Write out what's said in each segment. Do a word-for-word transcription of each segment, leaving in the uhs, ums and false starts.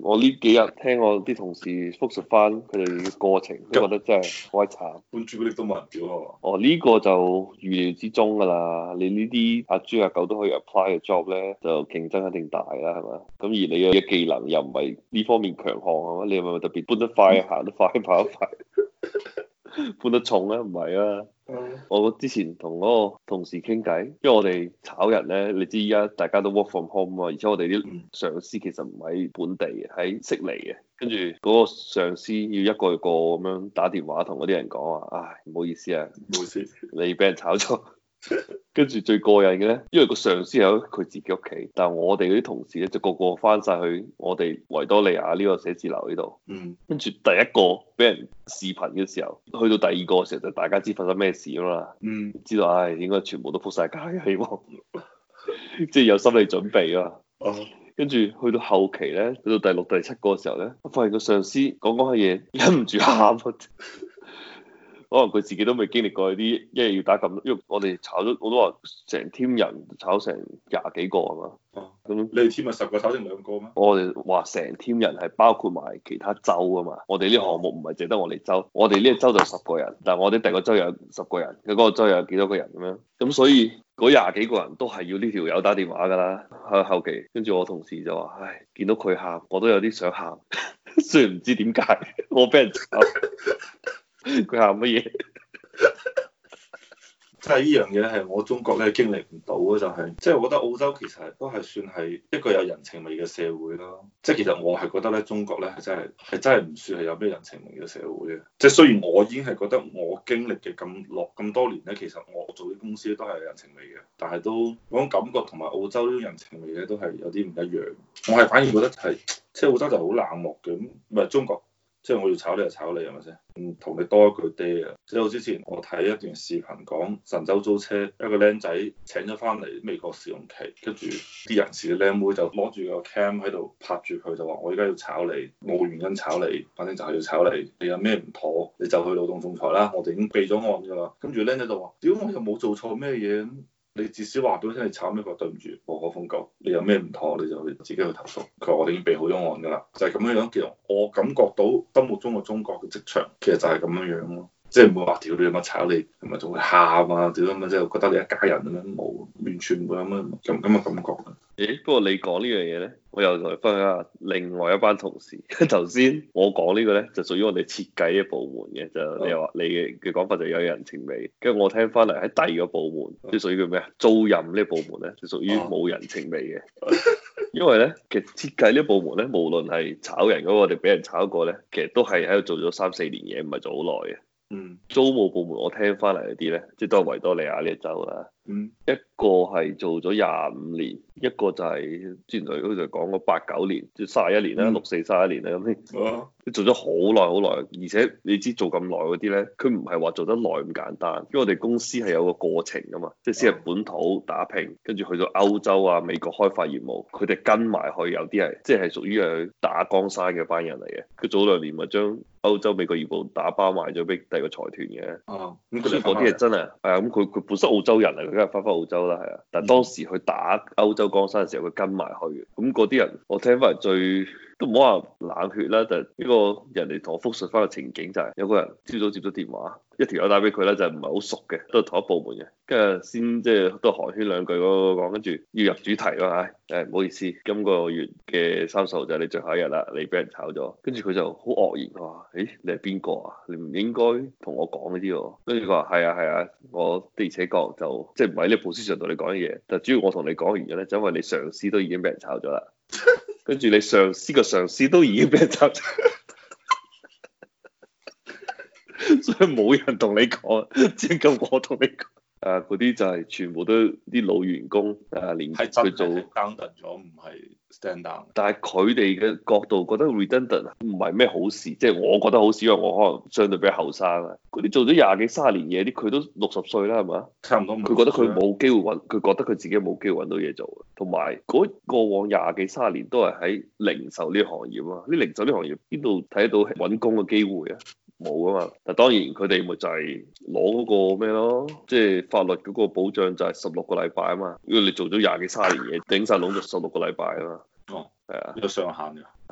我呢幾日聽我啲同事複述翻佢哋嘅過程，都覺得真係好鬼慘。 搬朱古力都冇人屌啊嘛。 哦，呢、這個就預料之中㗎啦。你呢啲阿豬阿狗都可以 apply 嘅 job 咧，就競爭一定大啦，係嘛？咁而你嘅技能又唔係呢方面強項係嘛？你係咪特別搬得快、行得快、跑得快？搬得重咧？唔係啊！ 嗯、 我之前同嗰個同事傾偈，因為我哋炒人咧，你知依家大家都 work from home 啊，而且我哋啲上司其實唔喺本地嘅，喺悉尼嘅，跟住嗰個上司要一個一個咁樣打電話同嗰啲人講話，唉，唔好意思啊， 唔好意思， 你俾人炒咗。跟住最過癮嘅咧，因為個上司喺佢自己屋企，但係我哋嗰啲同事咧就個個翻晒去我哋維多利亞呢個寫字樓呢度。 嗯。 跟住第一個俾人視頻嘅時候，去到第二個嘅時候就大家知發生咩事啊嘛。 嗯。 知道唉，應該全部都仆晒街嘅，希望即係有心理準備啊。 哦。 跟住去到後期咧，去到第六、第七個嘅時候咧，我發現個上司講講下嘢，忍唔住喊。可能佢自己都未經歷過啲，因為要打咁，因為我哋炒咗，我都話成 team 人炒成廿幾個啊嘛。 哦， 咁你哋 team 咪十個炒剩兩個咩？ 我哋話成 team 人係包括埋其他州啊嘛。我哋呢個項目唔係淨得我哋州，我哋呢個州就十個人，但係我哋第個州有十個人，佢嗰個州有幾多個人咁樣。咁所以嗰廿幾個人都係要呢條友打電話㗎啦。喺後期，跟住我同事就話：唉，見到佢喊，我都有啲想喊，雖然唔知點解，我俾人炒。佢喊乜嘢？ 即係呢樣嘢係我中國咧經歷唔到嘅，就係即係我覺得澳洲其實都係算係一個有人情味嘅社會咯。即係其實我係覺得咧，中國咧係真係係真係唔算係有咩人情味嘅社會嘅。即係雖然我已經係覺得我經歷嘅咁落咁多年咧，其實我做啲公司都係有人情味嘅，但係都嗰種感覺同埋澳洲呢種人情味咧都係有啲唔一樣。我係反而覺得係即係澳洲就好冷漠嘅，咁唔係中國。即係我要炒你就炒你係咪先？唔同你多一句爹啊！即係我之前我睇一段視頻講神州租車，一個僆仔請咗翻嚟美國試用期，跟住啲人事嘅僆妹就攞住個 cam 喺度拍住佢，就話我而家要炒你，冇原因炒你，反正就係要炒你。你有咩唔妥，你就去勞動仲裁啦，我哋已經備咗案㗎啦。跟住僆仔就話：屌，我又冇做錯咩嘢。你至少話俾我聽，你炒咩貨？對唔住，無可奉告。你有咩唔妥，你就自己去投訴。佢話我哋已經備好咗案㗎啦，就係咁樣樣。其實我感覺到心目中嘅中國嘅職場，其實就係咁樣樣咯。即係唔會話屌你乜炒你，係咪仲會喊啊？屌咁啊，即係覺得你一家人咁樣，冇完全冇咁樣咁咁嘅感覺。 誒，不過你講呢樣嘢咧，我又同你分享下另外一班同事。頭先我講呢個咧，就屬於我哋設計嘅部門嘅，就你話你嘅嘅講法就有人情味。跟住我聽翻嚟喺第二個部門，即係屬於叫咩啊？租賃呢個部門咧，就屬於冇人情味嘅。因為咧，其實設計呢個部門咧，無論係炒人嗰個，我哋俾人炒過咧，其實都係喺度做咗三四年嘢，唔係做好耐嘅。 嗯， 租務部門我聽翻嚟嗰啲咧，即係都係維多利亞呢個州啦。 嗯， 一個係做咗廿五年，一個就係之前佢好似講過八九年，即係卅一年啦，六四卅一年啦咁先。 啊， 做咗好耐好耐，而且你知做咁耐嗰啲咧，佢唔係話做得耐咁簡單，因為我哋公司係有個過程噶嘛，即係先係本土打拼，跟住去到歐洲啊、美國開發業務，佢哋跟埋去，有啲係即係屬於係打江山嘅班人嚟嘅。佢早兩年咪將歐洲美國業務打包賣咗俾第二個財團嘅。 啊，咁所以嗰啲係真係係啊，咁佢佢本身澳洲人嚟，佢梗係翻返澳洲啦，係啊。但係當時去打歐洲江山嘅時候，佢跟埋去嘅。咁嗰啲人，我聽翻嚟最都唔好話冷血啦，就係呢個人哋同我複述翻個情景就係有個人朝早接咗電話，一條友打俾佢咧，就唔係好熟嘅，都係同一部門嘅，跟住先即係都寒暄兩句嗰個講，跟住要入主題咯，唉，誒唔好意思，今個月嘅三十號就係你最後一日啦，你俾人炒咗，跟住佢就好愕然，佢話：誒你係邊個啊？你唔應該同我講呢啲喎。跟住佢話：係啊係啊，我的而且確就即係唔喺呢個 position 同你講嘢，但主要我同你講原因咧，就因為你上司都已經俾人炒咗啦。跟住你上司個上司都已經俾人炒咗，所以冇人同你講，只夠我同你講。啊，嗰啲就係全部都啲老員工啊，連佢做 redundant 咗，唔係 stand down。 但係佢哋嘅角度覺得 redundant 唔係咩好事，即係我覺得好少，因為我可能相對比較後生啊。嗰啲做咗廿幾三十年嘢，啲佢都六十歲啦，係嘛？ 差唔多。 佢覺得佢冇機會揾，佢覺得佢自己冇機會揾到嘢做。同埋嗰過往廿幾三十年都係喺零售呢個行業啊，啲零售呢行業邊度睇得到揾工嘅機會啊？冇啊嘛，但當然佢哋咪就係攞嗰個咩咯，即係法律嗰個保障就係十六個禮拜啊嘛，因為你做咗廿幾卅年嘢，頂晒籠就十六個禮拜啊嘛。 哦， 係啊， 有上限㗎。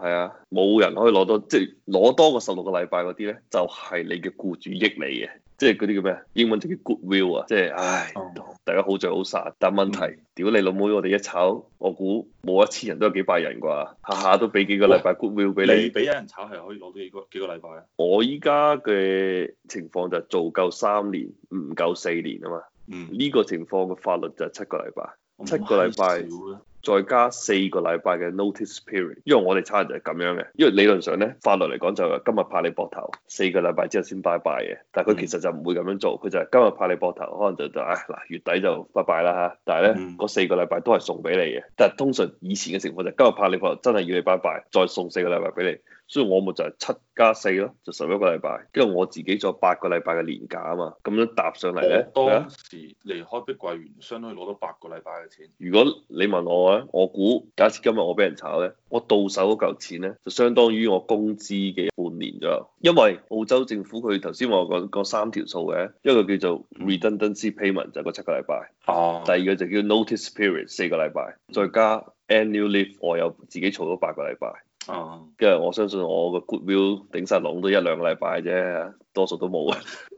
係啊，冇人可以攞多，即係攞多過十六個禮拜嗰啲咧，就係、是、你嘅僱主益你嘅，即係嗰啲叫咩？英文就叫 goodwill 啊，即係唉， 哦、 大家好聚好散。但問題， 嗯、 屌你老母，我哋一炒，我估冇一千人都有幾百人啩，下下都俾幾個禮拜 goodwill 俾你。 你俾人炒係可以攞到幾個幾個禮拜啊？ 我依家嘅情況就係做夠三年，唔夠四年啊嘛。 嗯， 呢個情況嘅法律就係七個禮拜，七咁個禮拜。再加四個禮拜嘅 notice period，因為我哋差人就係咁樣嘅，因為理論上咧法律嚟講就係今日拍你膊頭，四個禮拜之後先拜拜嘅，但係佢其實就唔會咁樣做，佢就係今日拍你膊頭，可能就就唉嗱月底就拜拜啦嚇，但係咧嗰四個禮拜都係送俾你嘅，但係通常以前嘅情況就係今日拍你膊頭真係要你拜拜，再送四個禮拜俾你，所以我咪就係七加四咯，就十一個禮拜，跟住我自己再八個禮拜嘅年假啊嘛，咁樣搭上嚟咧， 當時離開碧桂園，相當於攞到八個禮拜嘅錢。 如果你問我咧，我估假設今日我俾人炒咧，我到手嗰嚿錢咧，就相當於我工資嘅半年左右。因為澳洲政府佢頭先我講講三條數嘅，一個叫做 redundancy payment 就係嗰七個禮拜， 哦， 第二個就叫 notice period 四個禮拜，再加 annual leave 我有自己儲咗八個禮拜。 哦， 跟住我相信我個 goodwill 頂晒籠都一兩個禮拜啫，多數都冇啊。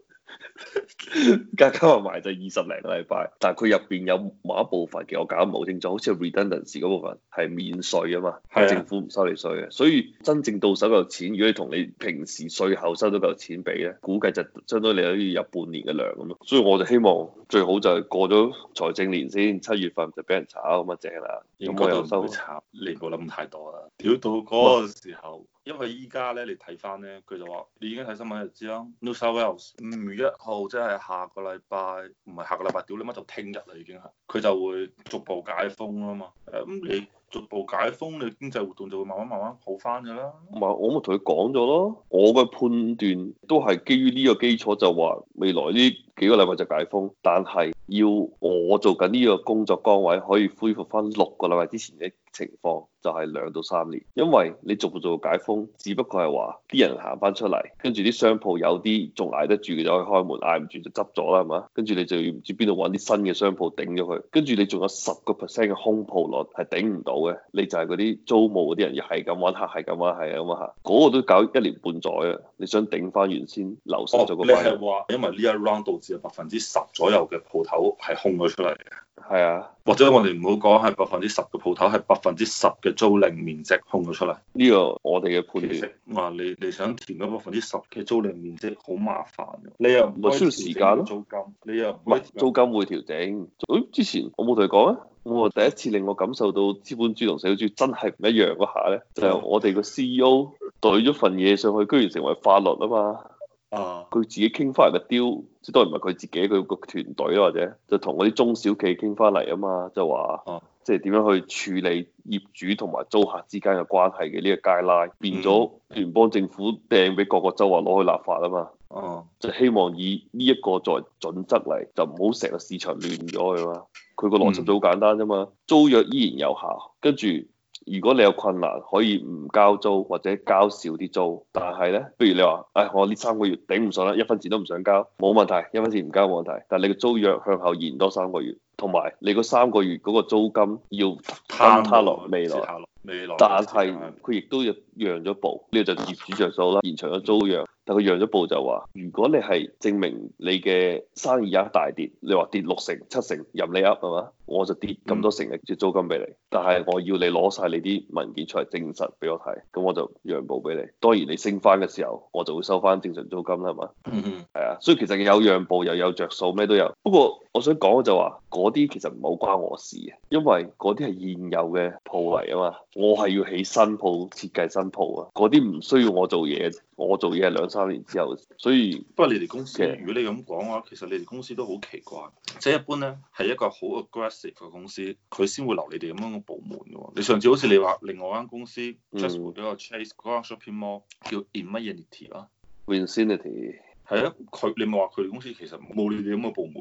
加加埋埋就二十零個禮拜，但係佢入邊有某一部分嘅我搞唔好清楚，好似 redundancy 嗰部分係免稅啊嘛，係政府唔收你稅嘅，所以真正到手嚿錢，如果你同你平時稅後收到嚿錢比咧，估計就相當於你可以入半年嘅糧咁咯。所以我就希望最好就係過咗財政年先，七月份就俾人炒咁啊正啦。咁我又收炒，你唔好諗太多啦。屌到嗰個時候。因為依家咧，你睇翻咧，佢就話你已經睇新聞就知啦。New South Wales 五月一號即係下個禮拜，唔係下個禮拜，屌你媽就聽日啦已經係，佢就會逐步解封啦嘛。誒咁你逐步解封，你經濟活動就會慢慢慢慢好翻㗎啦。 唔係，我咪同佢講咗咯，我嘅判斷都係基於呢個基礎，就話未來呢幾個禮拜就解封，但係要我做緊呢個工作崗位可以恢復翻六個禮拜之前嘅情況，就係兩到三年，因為你逐步做解封，只不過係話啲人行翻出嚟，跟住啲商鋪有啲仲捱得住嘅就可以開門，捱唔住就執咗啦，係嘛？跟住你就要唔知邊度揾啲新嘅商鋪頂咗佢，跟住你仲有十個 percent 嘅空鋪率係頂唔到嘅，你就係嗰啲租務嗰啲人又係咁揾客，係咁揾，係咁揾客，嗰個都搞一年半載啊！你想頂翻原先流失咗個， 你係話因為呢一 round 導致有百分之十左右嘅鋪頭係空咗出嚟嘅？ 係啊， 或者我哋唔好講係百分之十嘅鋪頭，係百分之十嘅租賃面積空咗出嚟。 呢個我哋嘅判斷。 話你你想填嗰百分之十嘅租賃面積好麻煩嘅，你又唔需要時間咯。 租金你又唔係租金會調整。誒，之前我冇同你講啊，我第一次令我感受到資本主義同社會主義真係唔一樣嗰下咧，就係我哋個 C E O 懟咗份嘢上去，居然成為法律啊嘛。 啊！ 佢自己傾翻嚟嘅 deal，即係當然唔係佢自己，佢個團隊或者就同嗰啲中小企傾翻嚟啊嘛，就話， 啊、 即係點樣去處理業主同埋租客之間嘅關係嘅呢個 guideline，變咗聯邦政府掟俾各個州話攞去立法啊嘛， 哦、啊， 就希望以呢一個作為準則嚟，就唔好成個市場亂咗佢嘛。佢個邏輯就好簡單啫嘛，租約依然有效，跟住。如果你有困難，可以唔交租或者交少啲租，但係咧，不如你話，唉，我呢三個月頂唔順啦，一分錢都唔想交，冇問題，一分錢唔交冇問題。但係你個租約向後延多三個月，同埋你嗰三個月嗰個租金要攤攤落未來， 未來。 但係佢亦都要讓咗步，呢個就業主着數啦，延長咗租約。但佢讓咗步就話，如果你係證明你嘅生意額大跌，你話跌六成、七成，任你噏係嘛，我就跌咁多成嘅租金俾你。但係我要你攞晒你啲文件出嚟證實俾我睇，咁我就讓步俾你。當然你升翻嘅時候，我就會收翻正常租金啦，係嘛？嗯嗯。係啊，所以其實有讓步又有着數，咩都有。不過我想講嘅就話，嗰啲其實唔好關我事嘅，因為嗰啲係現有嘅鋪嚟啊嘛，我係要起新鋪、設計新鋪啊，嗰啲唔需要我做嘢，我做嘢係兩三年之後，所以不過你哋公司，如果你咁講嘅話，其實你哋公司都好奇怪，即係一般咧係一個好 aggressive 嘅公司，佢先會留你哋咁樣嘅部門嘅喎。你上次好似你話另外一間公司 just 嗰個 Chase 嗰間 shopping mall 叫 Infinity 啊 Infinity 係啊，佢你咪話佢哋公司其實冇你哋咁嘅部門嘅，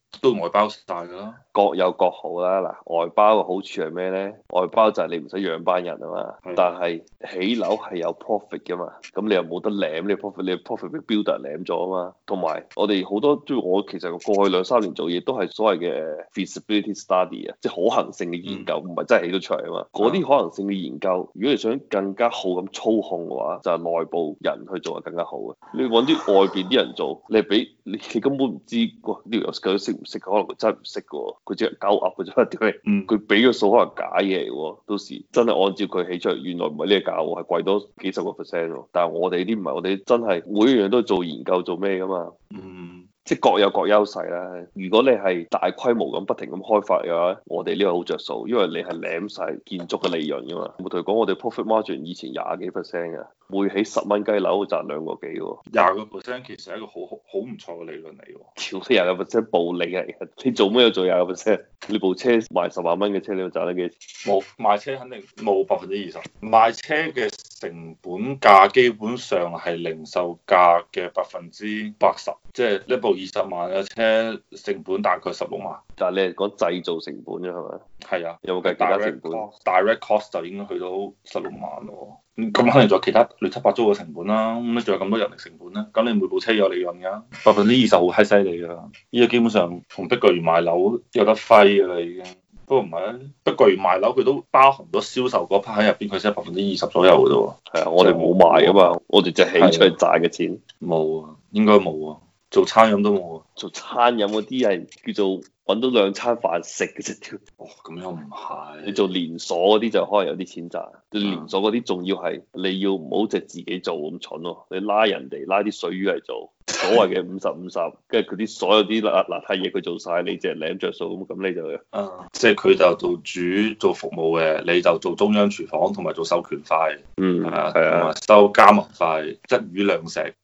都外包晒㗎啦。 各有各好啦。嗱，外包嘅好處係咩咧？外包就係你唔使養班人啊嘛。 係但係起樓係有 profit 噶嘛，咁你又冇得舐你 profit，你 profit 俾 builder 舐咗啊嘛。同埋我哋好多即係我其實過去兩三年做嘢都係所謂嘅 feasibility study 啊，即係可行性嘅研究，唔係、嗯、真係起到出嚟啊嘛。嗰啲、嗯、可能性嘅研究，如果你想更加好咁操控嘅話，就係、是、內部人去做係更加好嘅。你揾啲外邊啲人做，你係俾你，你根本唔知哇呢條友究竟識唔識，可能佢真係唔識嘅，佢只係鳩噏嘅啫。點解？佢俾嘅數可能假嘢嚟喎，到時真係按照佢起出嚟，原來唔係呢個價喎，係貴多幾十個 percent 喎。但係我哋呢啲唔係，我哋真係每一樣都做研究做咩噶嘛。 嗯。 即係各有各優勢啦。如果你係大規模咁不停咁開發嘅話，我哋呢個好着數，因為你係舐晒建築嘅利潤噶嘛。我同你講，我哋 profit margin 以前廿幾 percent 嘅，每起十蚊雞樓賺兩個幾喎。 廿個 percent 其實係一個好好好唔錯嘅利潤嚟喎。 屌，你廿個 percent 暴利嚟嘅，你做咩要做廿個 percent？你部車賣十萬蚊嘅車，你要賺得幾錢？ 冇賣車肯定冇百分之二十，賣車嘅成本價基本上係零售價嘅百分之八十，即係呢部二十萬嘅車成本大概十六萬。 但係你係講製造成本啫係咪？ 係啊， 有冇計其他成本 ？Direct cost 就已經去到十六萬咯。咁肯定仲有其他亂七八糟嘅成本啦。咁你仲有咁多人力成本咧？咁你每部車有利潤㗎，百分之二十好閪犀利㗎。依家基本上同碧桂園賣樓有得揮㗎啦已經。不過唔係啊，碧桂園賣樓佢都包含咗銷售嗰 part 喺入邊，佢先係百分之二十左右嘅啫喎。係啊，我哋冇賣㗎嘛，我哋就起出嚟賺嘅錢。冇啊， 應該冇啊。做餐飲都冇啊。 做餐飲嗰啲係叫做揾到兩餐飯食嘅啫。 哦，咁又唔係。 你做連鎖嗰啲就可能有啲錢賺。你連鎖嗰啲仲要係你要唔好就自己做咁蠢咯。你拉人哋拉啲水魚嚟做，所謂嘅五十五十，跟住佢啲所有啲邋邋遢嘢佢做晒，你淨係舐着數咁，咁你就啊，即係佢就做主做服務嘅，你就做中央廚房同埋做授權費， 嗯，係啊， 同埋收加盟費，一魚兩食。